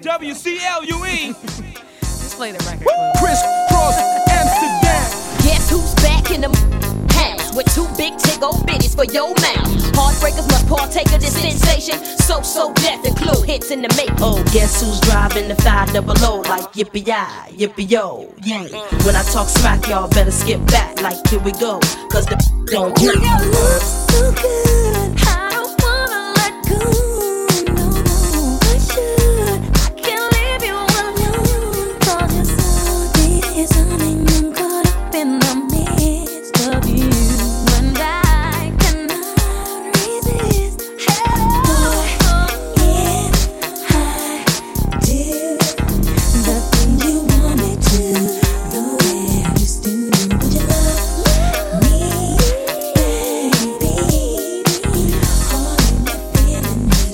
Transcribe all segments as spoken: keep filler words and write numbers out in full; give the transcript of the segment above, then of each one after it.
W C L U E. Just play the record. Chris Cross, Amsterdam. Guess who's back in the house with two big tick old bitties for your mouth. Heartbreakers must partake of this sensation. So, so death and clue hits in the make. Oh, guess who's driving the five double O like yippee-yi, yippee-yo, yeah. When I talk smack, y'all better skip back like here we go, cause the don't Your love's so good, I don't wanna let go. No, no, I should. I can't leave you alone. Cause you're so deep, it's something I'm caught up in the midst of you. And I cannot resist. Boy, if I do the things you want me to, the way I used to do, would you love me, baby? All in the feeling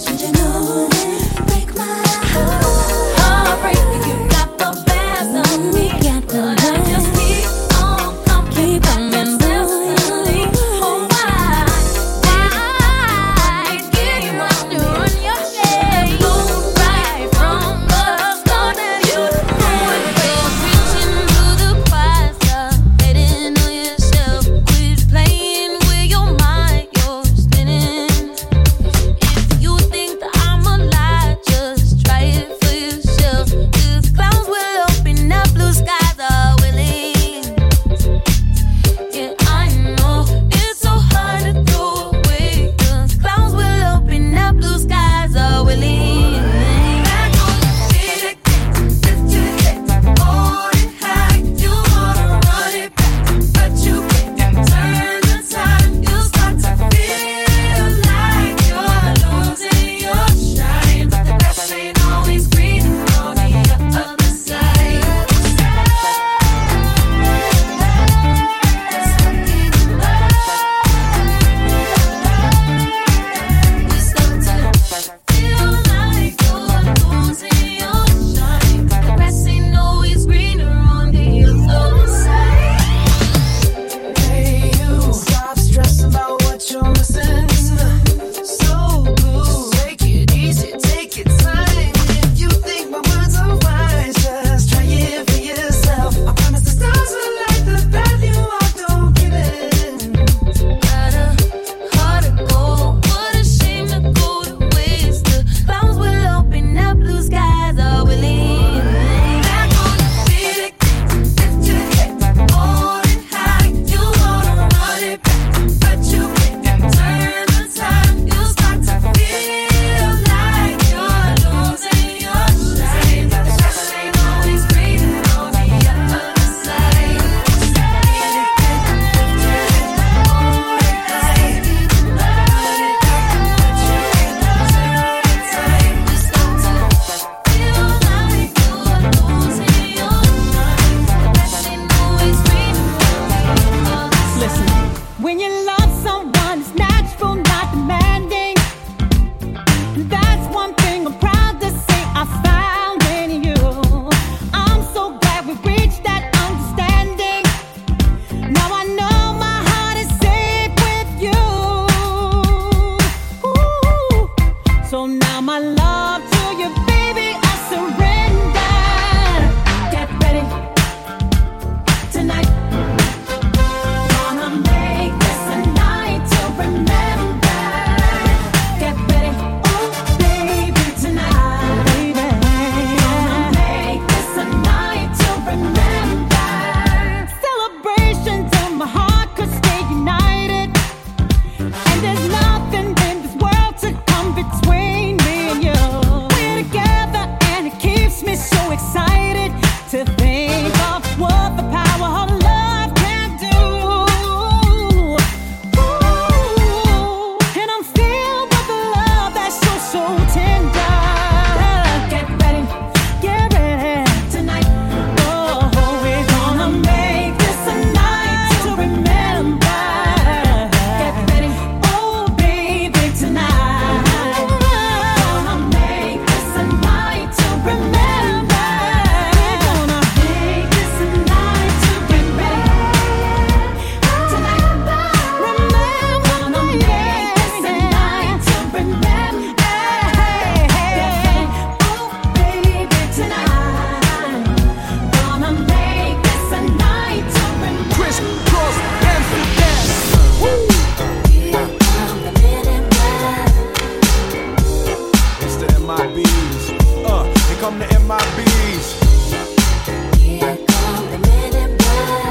come the M I Bs. Here come the men in black.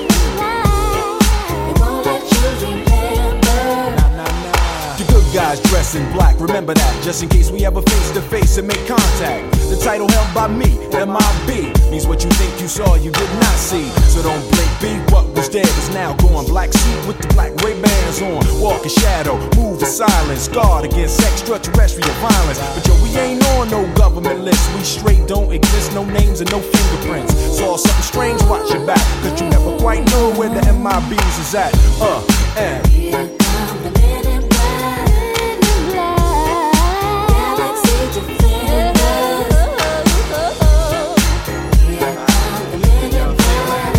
They won't let you remember. Nah, nah, nah. The good guys dress in black, remember that, just in case we ever face to face and make contact. The title held by me, M I B, means what you think you saw, you did not see. So don't blink, be what was dead is now gone. Black suit with the black Ray-Bans on, walk in shadow, move in silence, guard against extraterrestrial violence. But yo, we ain't on no government list, we straight don't exist, no names and no fingerprints. Saw something strange, watch your back, cause you never quite know where the M I Bs is at. Uh, and Here come the men in black. Galaxy defenders. Here come the men in black.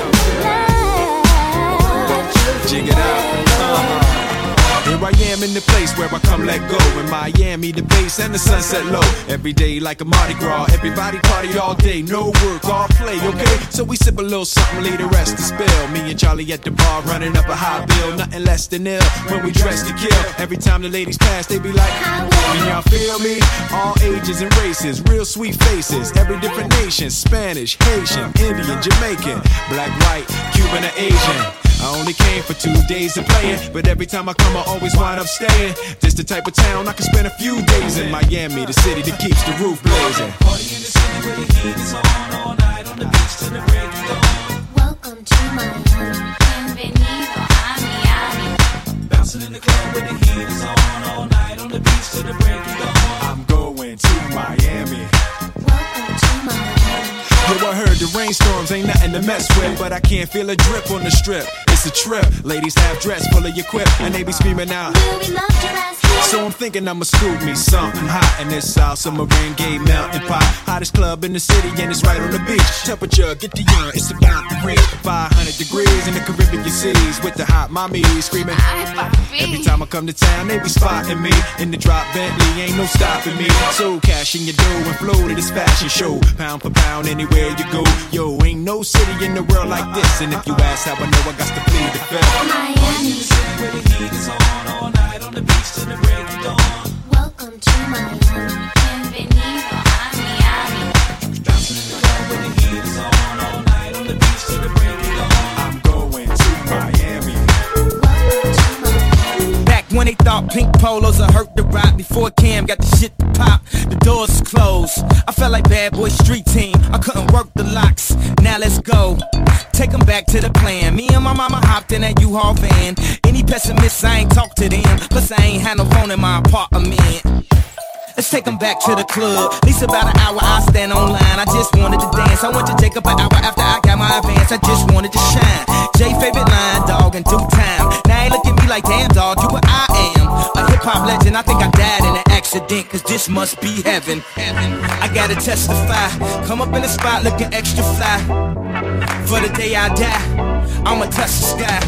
jig it out. Uh-huh. Here I am in the place where I come let go. In Miami, the bass and the sunset low. Every day like a Mardi Gras. Everybody party all day, no work, all play, okay? So we sip a little something, leave the rest to spill. Me and Charlie at the bar running up a high bill. Nothing less than ill when we dress to kill. Every time the ladies pass, they be like, can y'all feel me? All ages and races, real sweet faces. Every different nation, Spanish, Haitian, Indian, Jamaican, black, white, Cuban, or Asian. I only came for two days of playing, but every time I come I always wind up staying. This the type of town I can spend a few days in. Miami, the city that keeps the roof blazing. Party in the city where the heat is on all night on the beach till the break of dawn. Welcome to Miami. Bienvenido a Miami. Bouncing in the club where the heat is on all night on the beach till the break of dawn. I'm going to Miami. Welcome to Miami. Yo, I heard the rainstorms ain't nothing to mess with, but I can't feel a drip on the strip. It's a trip. Ladies half dressed, full of your quip, and they be screaming out. Will we love your ass here? So I'm thinking I'ma scoop me something hot in this South Submarine Gay Mountain Pot. Hottest club in the city and it's right on the beach. Temperature, get the urine, it's about to reach five hundred degrees in the Caribbean cities with the hot mommies screaming. Ay, papi. Every time I come to town, they be spotting me in the drop Bentley, ain't no stopping me. So cash in your dough and flow to this fashion show. Pound for pound, anywhere you go. Yo, ain't no city in the world like this. And if you ask how I know, I got to plead the fifth. Miami. The city where the heat is on all night on the beach till the break of dawn. Welcome to Miami. Bienvenido a Miami. Bouncing in the club where the heat is on all night on the beach till the break of dawn. I'm going to Miami. Welcome to Miami. Back when they thought pink polos would hurt the rock, before Cam got the shit to pop, the doors was closed. I felt like Bad Boy Street Team, I couldn't work the locks. Now let's go, take them back to the plan. Me and my mama hopped in that U-Haul van. Any pessimists, I ain't talk to them. Plus I ain't had no phone in my apartment. Let's take them back to the club. At least about an hour I stand online. I just wanted to dance. I went to Jacob an hour after I got my advance. I just wanted to shine. Jay favorite line, dog, in due time. Now ain't look at me like damn dog, you what I am. A hip hop legend, I think I died in an accident, cause this must be heaven. I gotta testify. Come up in the spot looking extra fly. For the day I die, I'ma touch the sky.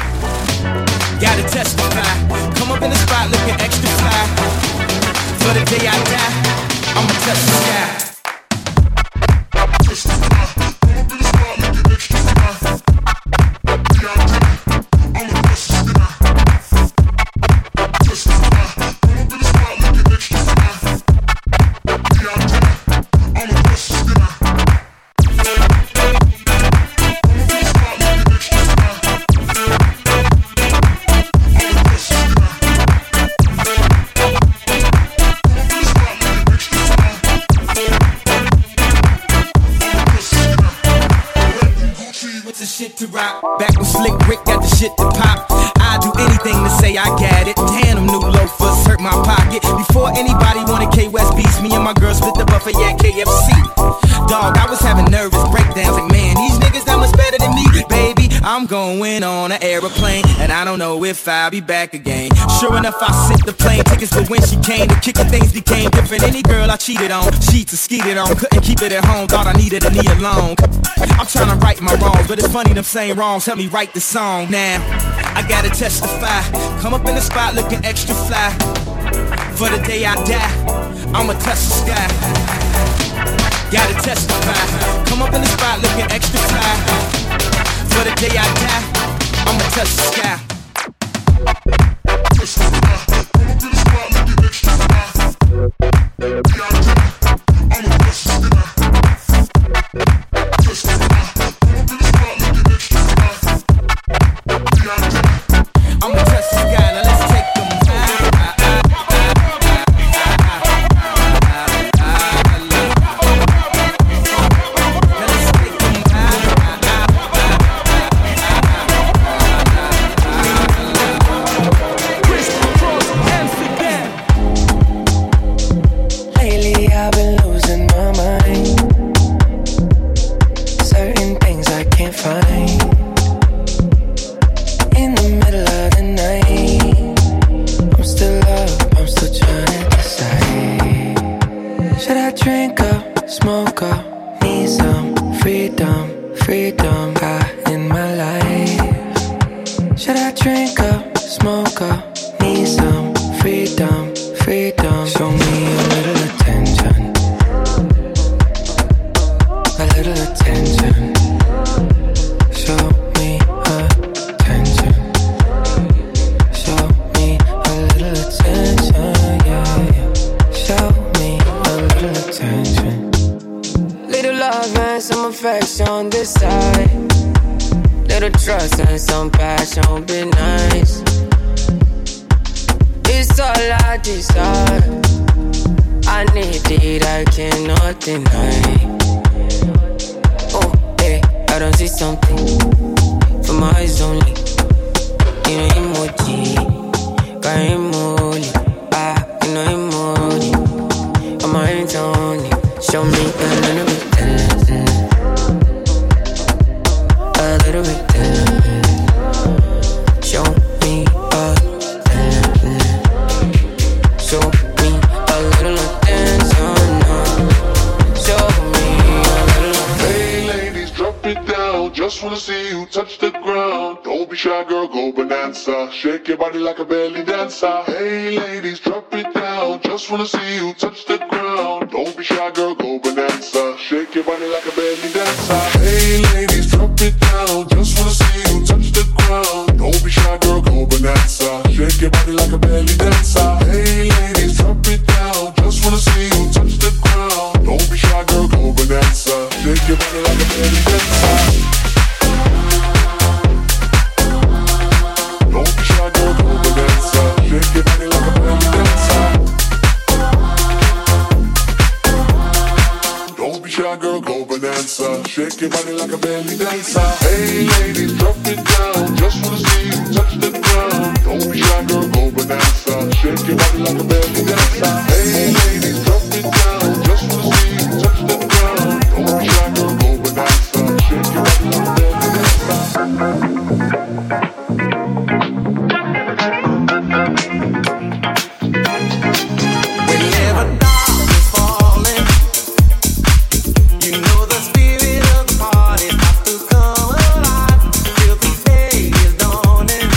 Gotta testify. Come up in the spot looking extra fly. For the day I die, I'ma touch the sky. Shit to rock. Back when Slick Rick got the shit to pop, I'd do anything to say I got it. Damn, them new loafers hurt my pocket. Before anybody wanted K-West beats, me and my girl split the buffet at K F C. Dog, I was having nervous breakdowns like, man, these niggas that much better than me. Baby, I'm going on an aeroplane, and I don't know if I'll be back again. Sure enough, I sent the plane tickets, but when she came to kick it, things became different. Any girl I cheated on, cheats and skeeted on, couldn't keep it at home, thought I needed a knee alone. I'm trying to right my wrongs, but it's funny them same wrongs help me write the song. Now, I gotta testify. Come up in the spot looking extra fly. For the day I die, I'ma touch the sky. Gotta testify. Come up in the spot looking extra fly. For the day I die, I'ma touch the sky. Come up in the spot looking extra fly. smoke up. Need some freedom, freedom high in my life. Should I drink up, smoke up? Need some freedom, freedom. Show me a little attention, a little attention. Show me attention, show me a little attention, yeah, yeah. Show me a little attention. Little love and some affection on this side. Little trust and some passion, be nice. It's all I desire. I need it, I cannot deny. Oh, hey, I don't see something for my eyes only. You know emoji, got emoji. Ah, you know emoji. On my hands only. Show me a little bit, a little bit. Show me a show me a little attention. Show me a little. Hey ladies, drop it down. Just wanna see you touch the ground. Don't be shy, girl, go bonanza. Shake your body like a belly dancer. Hey ladies, drop it down. Just wanna see you touch the ground. Don't be shy, girl, go bonanza. Shake your body like a belly dancer. Hey ladies, drop it down. Just wanna see you touch the ground. Don't be shy, girl, go bonanza. Shake your body like a belly dancer. Hey ladies, drop it down. Just wanna see you touch the ground. Don't be shy, girl, go bonanza. Shake your body like a belly dancer. Don't be shy, girl, go bonanza. Shake your body like a belly dancer. Don't be shy, girl, go bonanza. Shake your body like a belly dancer. Hey ladies, drop it down. Just wanna see you touch the ground. Don't be shy, girl, go bonanza. Shake your body like a belly dancer. Hey ladies, drop it down. Just wanna see you touch the ground. Don't be shy, girl, go bonanza. Shake your body like a belly dancer. Whenever dark is falling, you know the spirit of the party has to come alive. Till the day is dawning,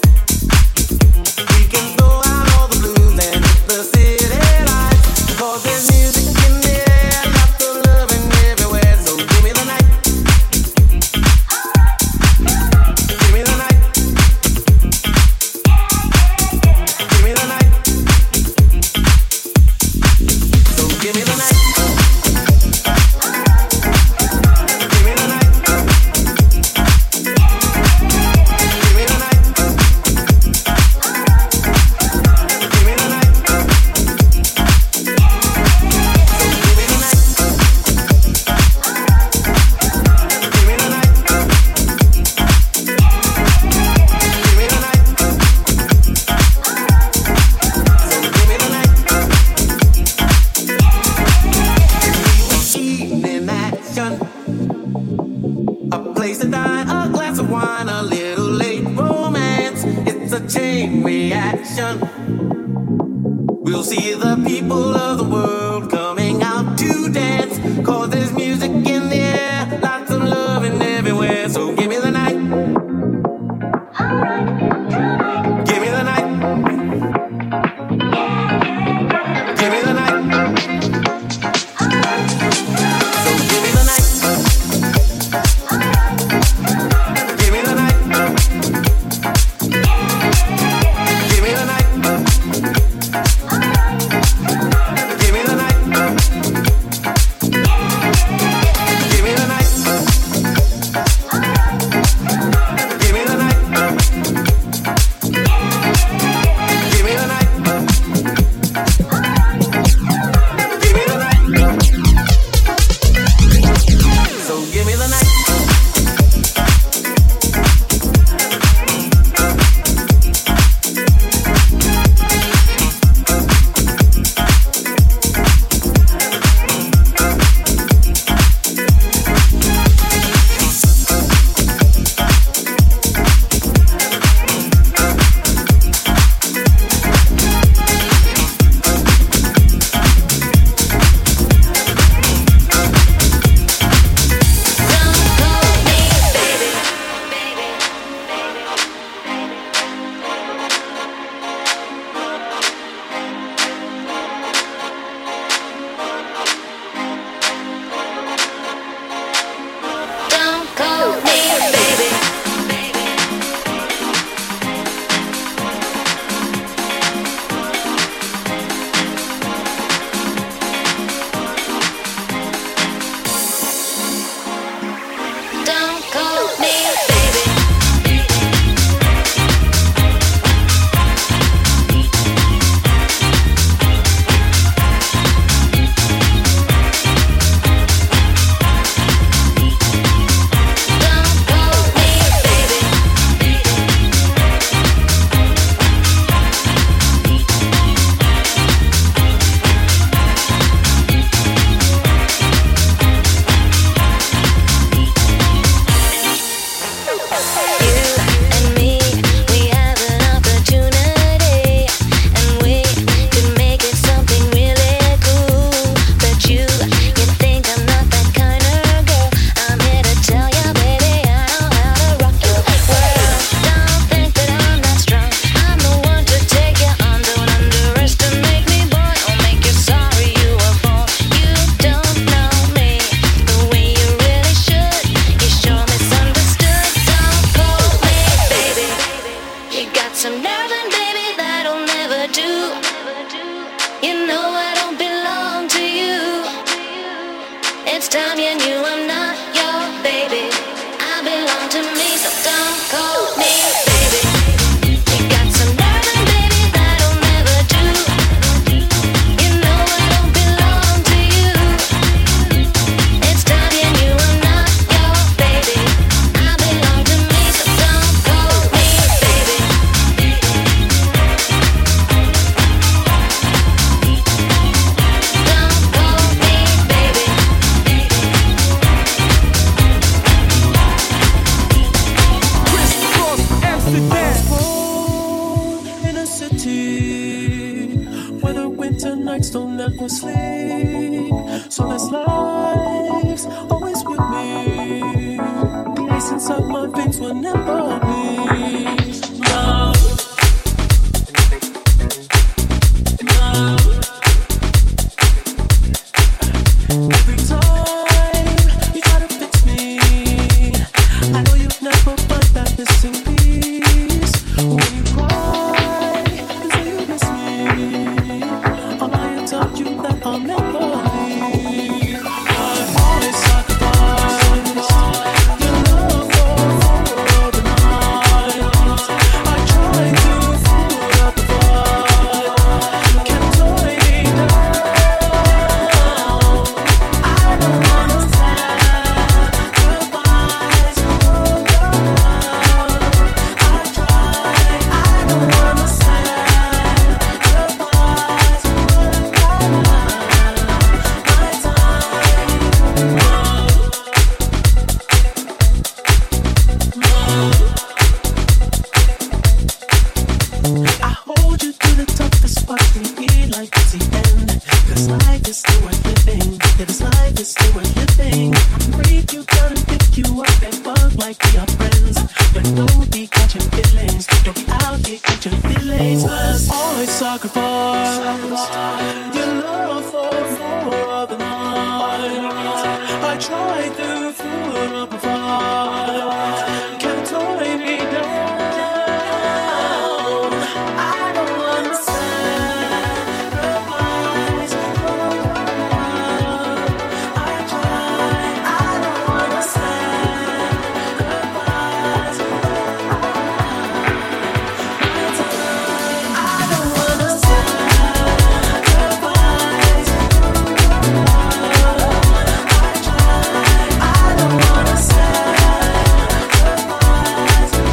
we can throw out all the blues and hit the city lights. 'Cause there's music in the air, lots of loving everywhere. So give me the night, give me the night, give me the night. So give me the night. Give me the night. Give me the night. Give me the night. So give me the night. Give me the night. Give me the night. So give me the night. Evening action, a place to dine, a glass of wine, a little late romance. It's a chain reaction. We'll see the people of the world coming out to dance. 'Cause there's music in the air, lots of loving everywhere. So give me the night. Give me the night. Give me the night. So give me the night. Give me the night. Give me the night. Give me the It's time you knew I'm not your baby. I belong to me, so don't call me baby. You got some loving, baby, that'll never do. You know I don't belong to you. It's time you knew I'm not your baby. I belong to me, so don't call me baby. Don't call me baby. In a city where the winter nights don't let me sleep, so this life's always with me. The ice inside my veins will never bleed. Love, love. Every time you try to fix me, I know you've never felt that missing piece. When you cry, you say you miss me. All I have told you that I'll never leave. I've always sacrificed your love for the night. I try to put up a fight, can't tie me down. I don't understand goodbyes for the love. I try, I don't understand goodbyes for the love. My time, I hold you through the toughest part and be like it's the end. Cause life is still worth living. Yeah, this life is still worth living. Break you down and pick you up and bug like we are friends. But don't be catching feelings. Don't be out here catching feelings. Cause always sacrifice your love for, for the night. I try to put up a fight, can't tie me down. I don't understand goodbyes for love. I try, I don't understand goodbyes for love. I don't understand goodbyes for love. I try, I don't understand goodbyes for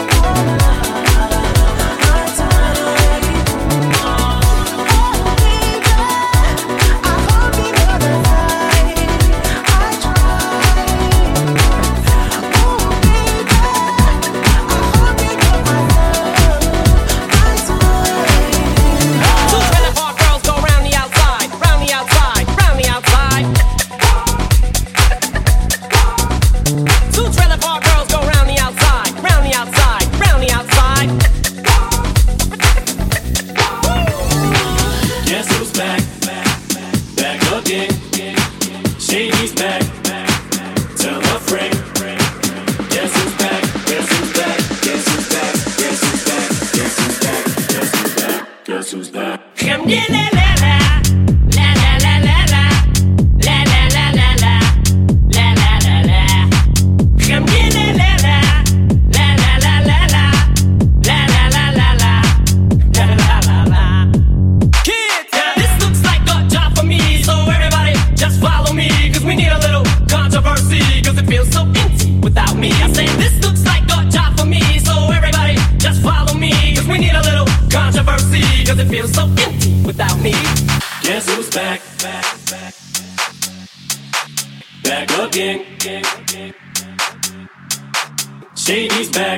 Shady's back.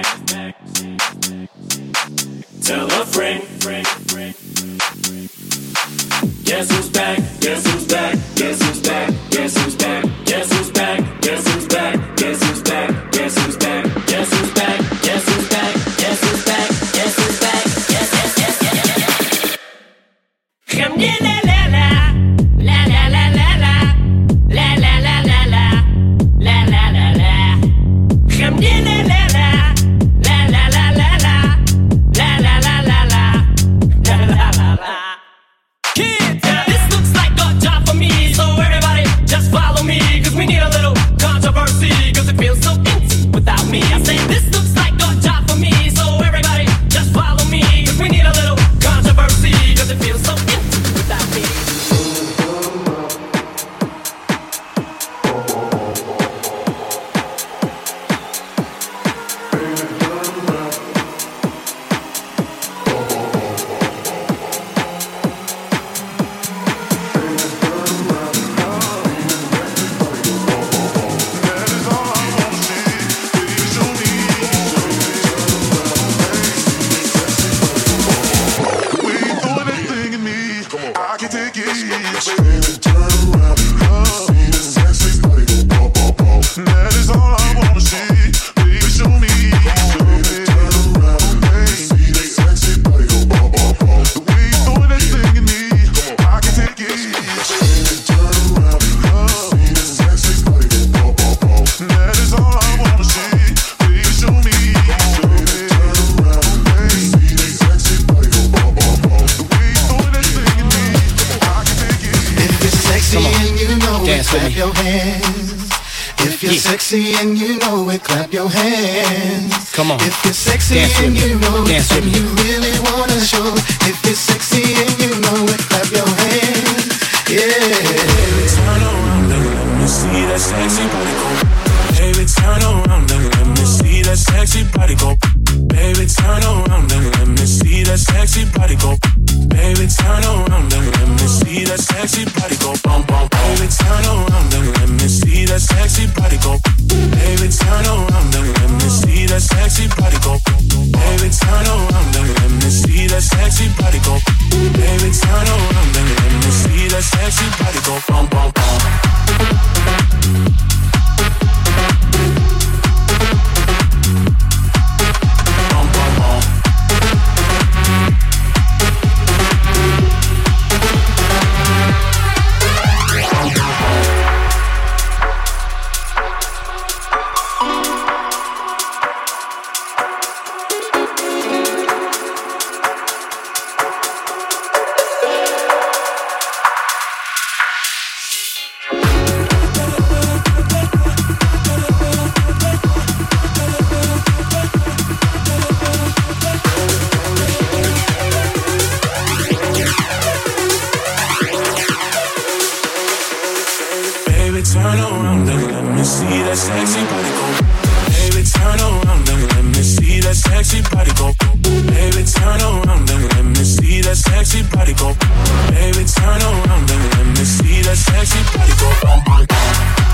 Tell a friend. Guess who's back? Guess who's back? Guess who's back? Guess who's back? Guess who's back? Guess who's back? Guess who's back? Guess who's back? Guess who's back? Guess who's back? Guess who's back? Guess who's back? Yes, yes, yes, yes, yes. Come get la la la la la la la la la la la la la la la la la. Come get la la la la la la la la la la la la la la la la. Kids, this looks like a job for me, so everybody. clap your hands. If you're yeah. sexy and you know it, clap your hands. Come on. If you're sexy Dance and you know Dance it, and you really wanna show it. If you're sexy and you know it, clap your hands. Yeah. Baby, turn around and let me see that sexy body go. Baby, turn around and let me see that sexy body go. Baby, turn around and let me see that sexy body go. Baby, turn around and let me see that sexy body go. Bum, bum, baby, turn around and let me see that sexy body go. Baby, turn around and let me see that sexy body go. Baby, turn around and let me see that sexy body go. Baby, turn around and let me see that sexy body go. Bum, bum, bum. Turn around and let me see that sexy body go. Baby, turn around and let me see that sexy body go. Baby, turn around and let me see that sexy body go. Baby, turn around and let me see that sexy body go. Bum, bum, bum.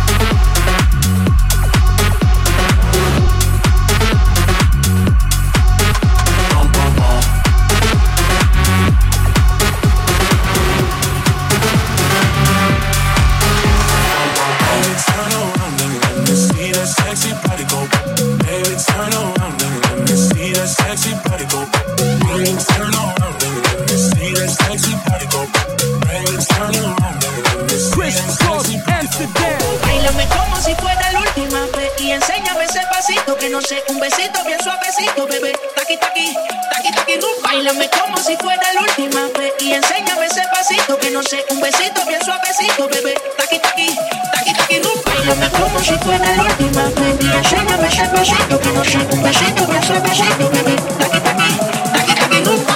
Sexy body go, baby, turn around and let me see that sexy body go. Baby, turn around and let me see that sexy body go. Baby, turn around and let me see that sexy body go. Bailame como si fuera la última vez y enséñame ese pasito que no sé, un besito bien suavecito, bebé. Taqui taqui, taqui taqui rumba. Bailame como si fuera la última vez y enséñame ese pasito que no sé, un besito bien suavecito, bebé. Taqui taqui, taqui taqui rumba. Bailame como si fuera la última vez y enséñame ese pasito que no sé, un besito bien suavecito, bebé. Taqui taqui, taqui taqui rumba.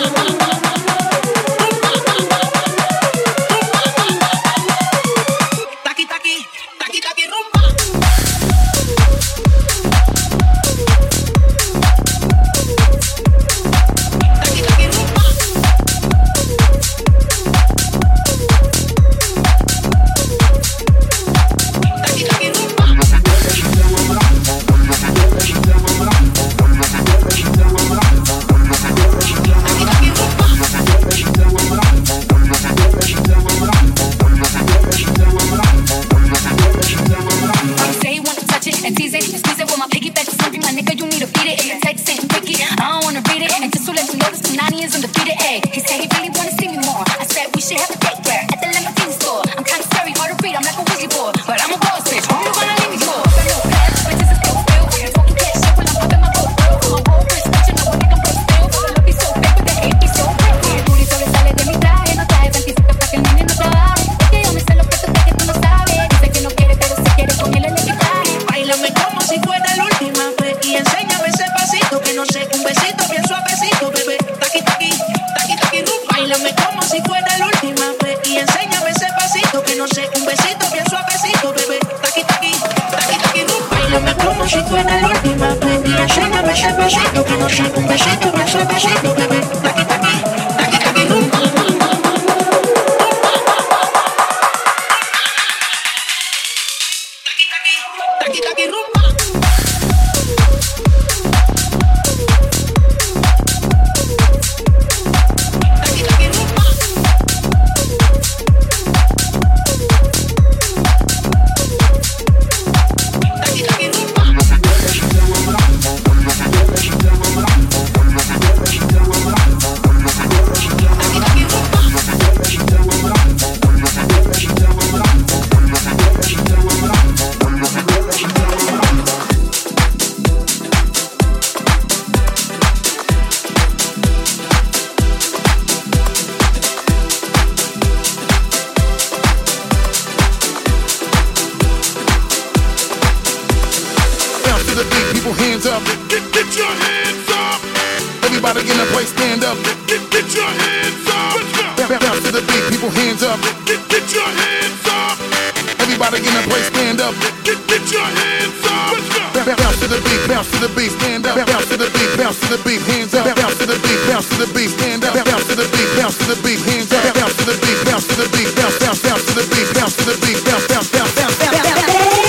people hands up. Get, get your hands up. Everybody in the place stand up. Get, get your hands up. Bounce to the beat, people hands up. Get, get your hands up. Everybody in the place stand up. Get, get your hands up. Bounce to the beat, bounce to the beat, stand up. Bounce to the beat, bounce to the beat, hands up. Bounce to the beat, bounce to the beat, stand up. Bounce to the beat, bounce to the beat, hands up. Bounce to the beat, bounce to the beat, bounce, bounce, bounce to the beat, bounce to the beat, bounce, bounce, bounce, bounce, bounce, bounce.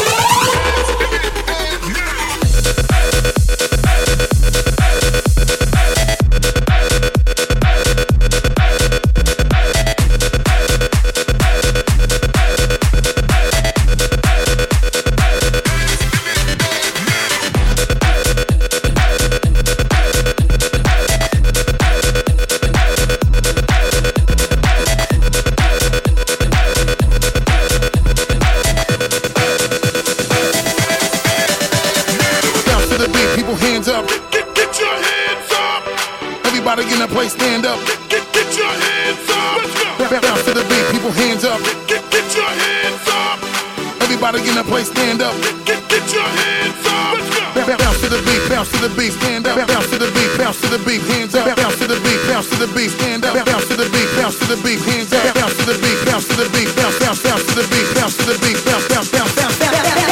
In the place, stand up. Get, get your hands up. Bounce to the beat, people hands up. Get, get your hands up. Everybody in the place, stand up. Get, get your hands up. Bounce to the beat, bounce to the beat, stand up. Bounce to the beat, bounce to the beat, hands up. Bounce to the beat, bounce to the beat, stand up. Bounce to the beat, bounce to the beat, hands up. Bounce to the beat, bounce to the beat, bounce, bounce, bounce to the beat, bounce to the beat, bounce, bounce, bounce, bounce, bounce, bounce.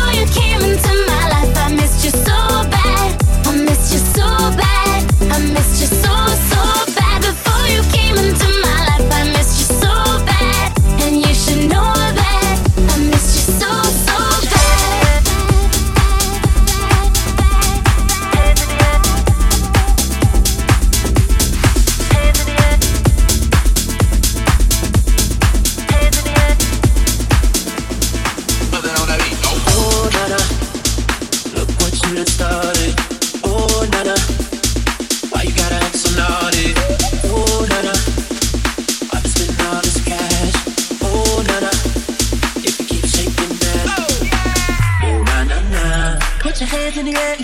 I missed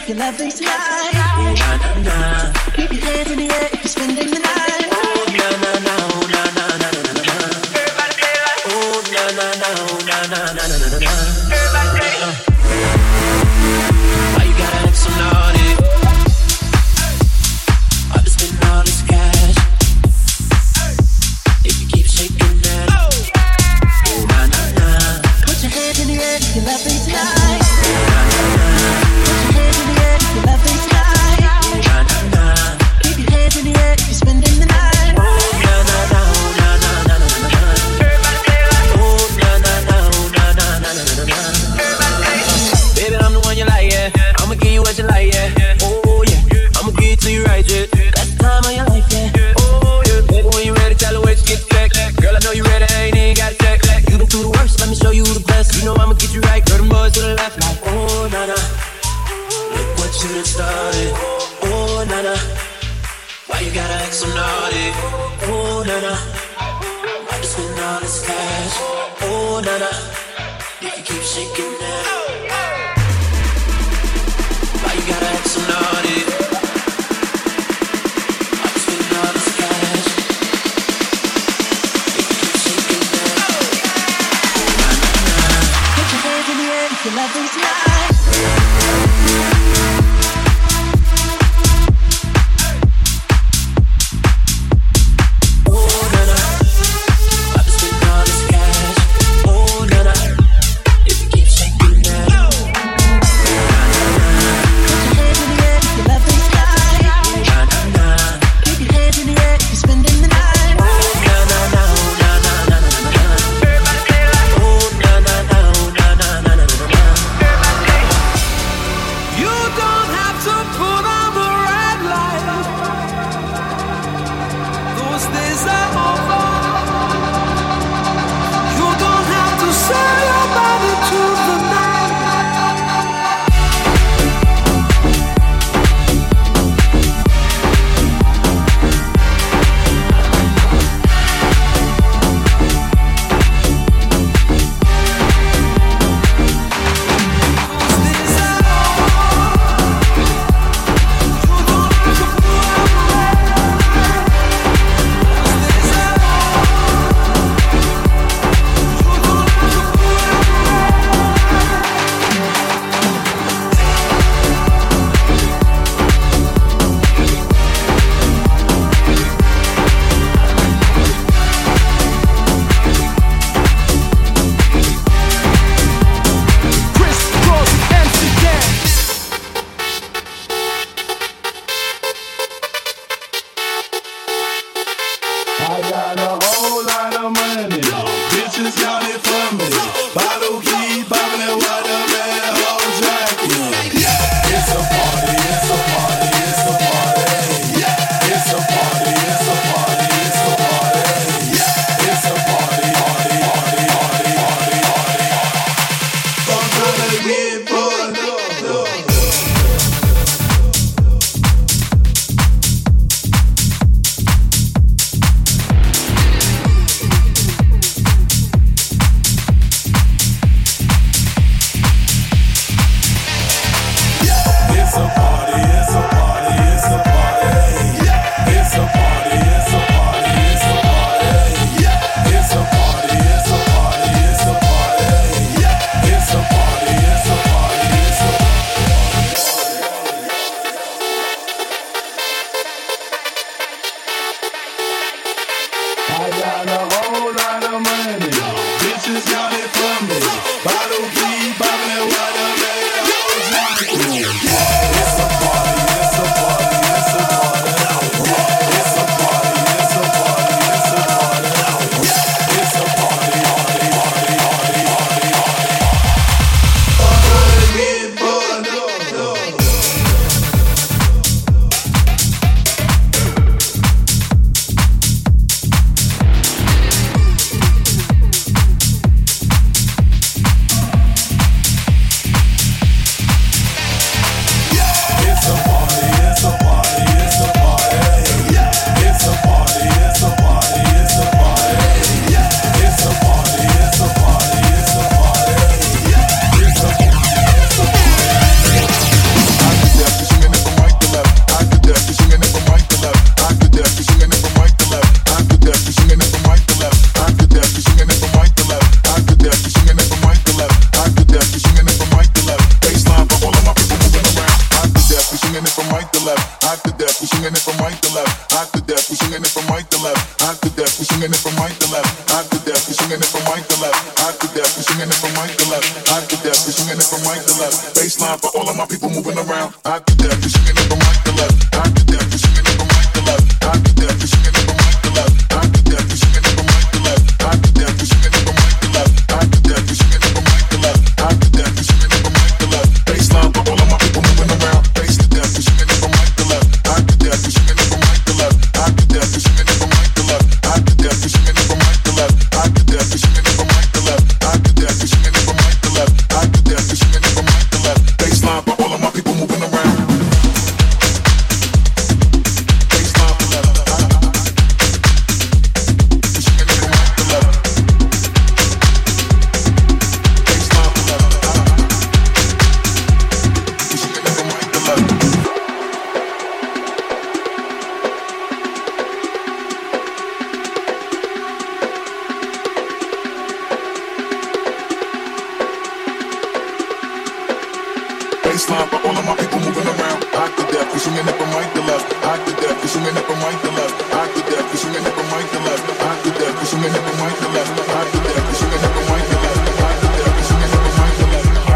if you're loving tonight. Oh, na na na. Keep your hands in the air if you're spending the night. Oh, na na na, oh, na na na na na na. Everybody say it like. Oh, na na na, oh, na na na na na na. Everybody say it. Why you gotta act so naughty? I've been spending all this cash. If you keep shaking that. Oh, na na na. Put your hands in the air if you're loving tonight. Started. Oh, nana, why you gotta act so naughty? Oh, nana, I just spend all this cash. Oh, nana, you can keep shaking that. Why you gotta act so naughty? I just spend all this cash. You can keep shaking that. Oh, nana, put your hands in the air if you're loving tonight. right to left. Hot to death, we swinging it from right to left. Hot to death, we swinging it from right to left. Hot to death, we swinging it from right to left. Hot to death, we swinging it from right to left. Hot to death, we swinging it from right to left. Baseline for all of my people moving around. Hot to death, we swinging it from right to left. Hot to death, we swinging it from right to left. Hot to death, we swinging it from right to left. Hot to death, we swinging it from right to left. Hot to death, we swinging it from right to left. Hot to death, we swinging it from right to left. Hot to death, we swinging it from right to left. Baseline for all of my people moving around. Base to death, we swinging it from right to left. Hot to death, we swinging it from right to left. Hot to death, we swinging it from right to left. Hot to death, we swinging it from right to left. Hot to death, we swinging it from right to left. Hot to death, we swinging it from right to left. Hot to death, we swinging it from right to left. Baseline for all of my people moving around. Baseline for all of my people moving around. Hot to death, we swinging it from right to left. Hot to death, we swinging it from right to left. Hot to death, we swinging it from right to left. Hot to death, we swinging it from right to left. Hot to death, we swinging it from right to left. Hot to death, we swinging it from right to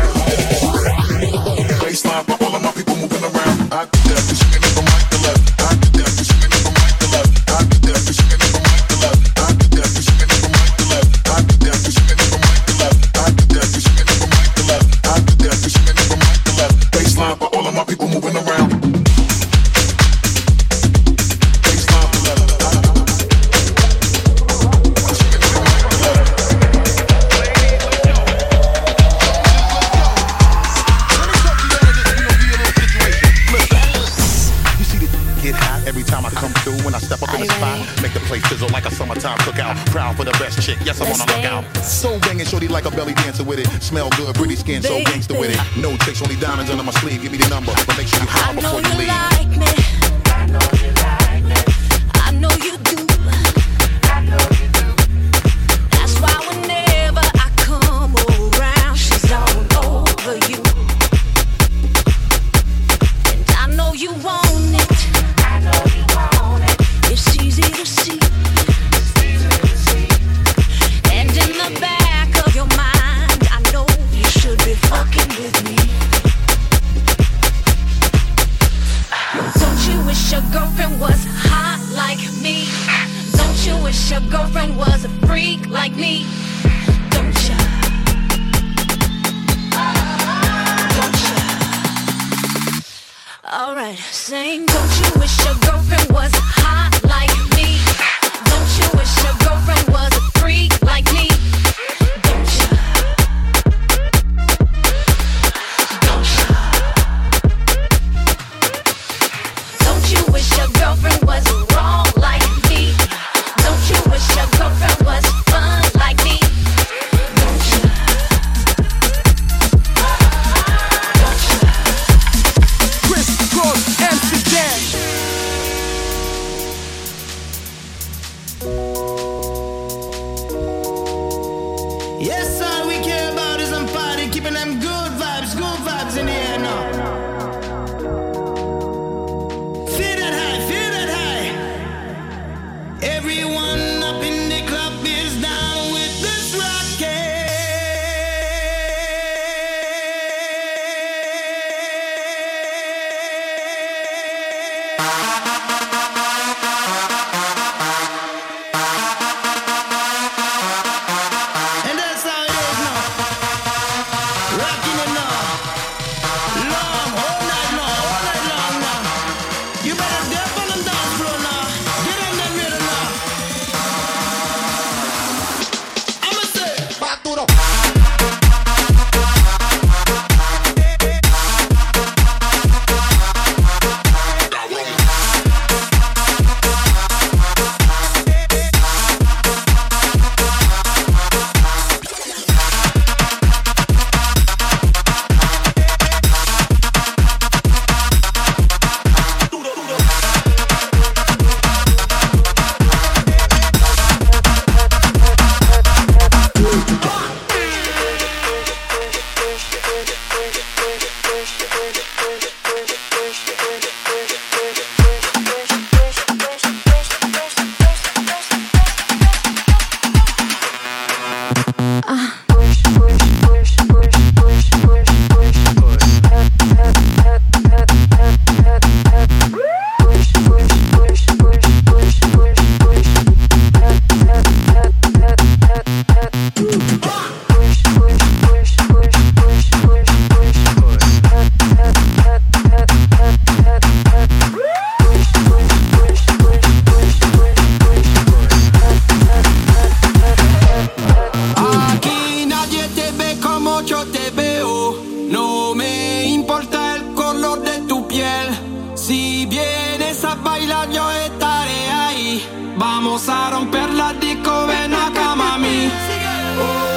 left. Baseline for all of my people moving around. Hot to death, we swinging it from right to left. Hot to death, we swinging it from right to left. Hot to death, we swinging it from right to left. Hot to death, we swinging it from right to left. Hot to death, we swinging it from right to left. Hot to death, we swinging it from right to left. Hot to death, we swinging it from right to left. Baseline for all of my people moving around. Every time I come through, when I step up in the spot, make the place sizzle like a summertime cookout. Proud for the best chick, yes, I'm on a lookout. So banging, shorty like a belly dancer with it. Smell good, pretty skin, so gangster with it. No tricks, only diamonds under my sleeve. Give me the number, but make sure you call before you leave. I know you like me. I know you like me. I know you do. I know you do. That's why whenever I come around, she's all over you. And I know you want it. It's easy to see. And in the back of your mind, I know you should be fucking with me. Don't you wish your girlfriend was hot like me? Don't you wish your girlfriend was a freak like me? Don't you? Don't you? Alright, sing. Don't you wish your girlfriend was hot like me? Don't you wish your girlfriend was a freak like me? Don't you? Don't you? Don't you wish your girlfriend was wrong like me? Don't you wish your girlfriend was fun like me? Don't you? Criss Cross Amsterdam. quieras yo estaré ahí. Vamos a romper la disco, ven acá, mami.